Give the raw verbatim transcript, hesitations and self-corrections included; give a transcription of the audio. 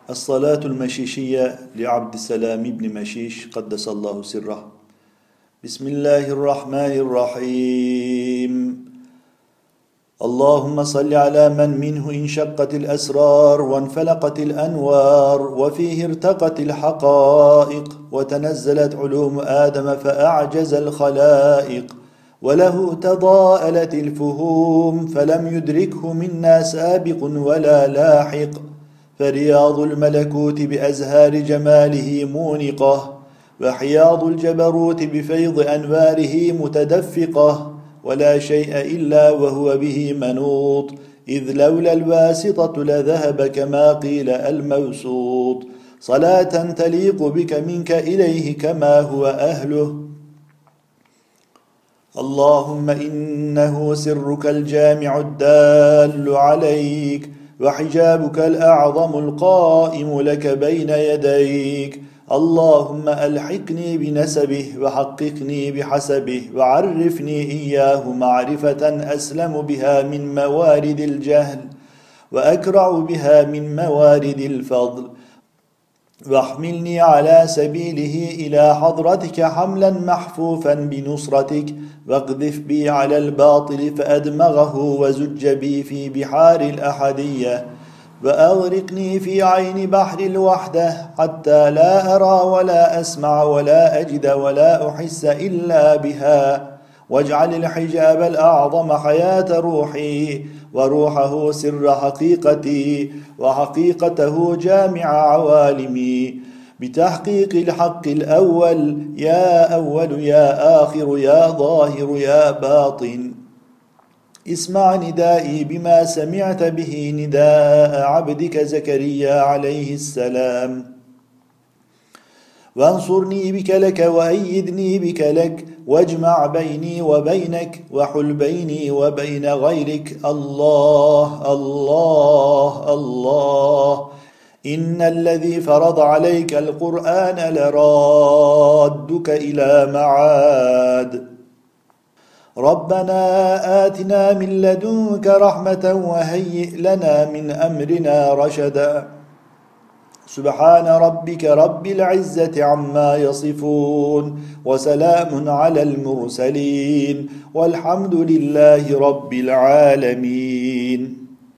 الصلاة المشيشية لعبد السلام بن مشيش قدس الله سره. بسم الله الرحمن الرحيم. اللهم صل على من منه انشقت الأسرار وانفلقت الأنوار وفيه ارتقت الحقائق وتنزلت علوم آدم فأعجز الخلائق وله تضاءلت الفهوم فلم يدركه منا سابق ولا لاحق، فرياض الملكوت بأزهار جماله مونقة، وحياض الجبروت بفيض أنواره متدفقة، ولا شيء إلا وهو به منوط، إذ لولا الواسطة لذهب كما قيل الموسوط. صلاة تليق بك منك إليه كما هو أهله. اللهم إنه سرك الجامع الدال عليك، وحجابك الأعظم القائم لك بين يديك. اللهم ألحقني بنسبه وحققني بحسبه وعرفني إياه معرفة أسلم بها من موارد الجهل وأكرع بها من موارد الفضل، واحملني على سبيله إلى حضرتك حملا محفوفا بنصرتك، واقذف بي على الباطل فأدمغه وزج بي في بحار الأحدية، وأغرقني في عين بحر الوحدة حتى لا أرى ولا أسمع ولا أجد ولا أحس إلا بها، واجعل الحجاب الأعظم حياة روحي، وروحه سر حقيقتي، وحقيقته جامع عوالمي، بتحقيق الحق الأول يا أول يا آخر يا ظاهر يا باطن. اسمع ندائي بما سمعت به نداء عبدك زكريا عليه السلام، وانصرني بك لك وأيدني بك لك، واجمع بيني وبينك وحل بيني وبين غيرك. الله الله الله، إن الذي فرض عليك القرآن لرادك إلى معاد. ربنا آتنا من لدنك رحمة وهيئ لنا من أمرنا رشدا. سبحان ربك رب العزة عما يصفون، وسلام على المرسلين، والحمد لله رب العالمين.